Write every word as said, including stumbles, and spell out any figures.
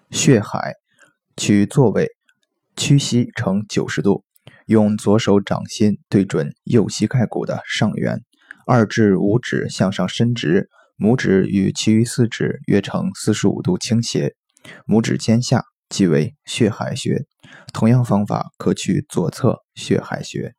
血海，取坐位，屈膝呈九十度，用左手掌心对准右膝盖骨的上缘，二至五指向上伸直，拇指与其余四指约呈四十五度倾斜，拇指尖下即为血海穴。同样方法可取左侧血海穴。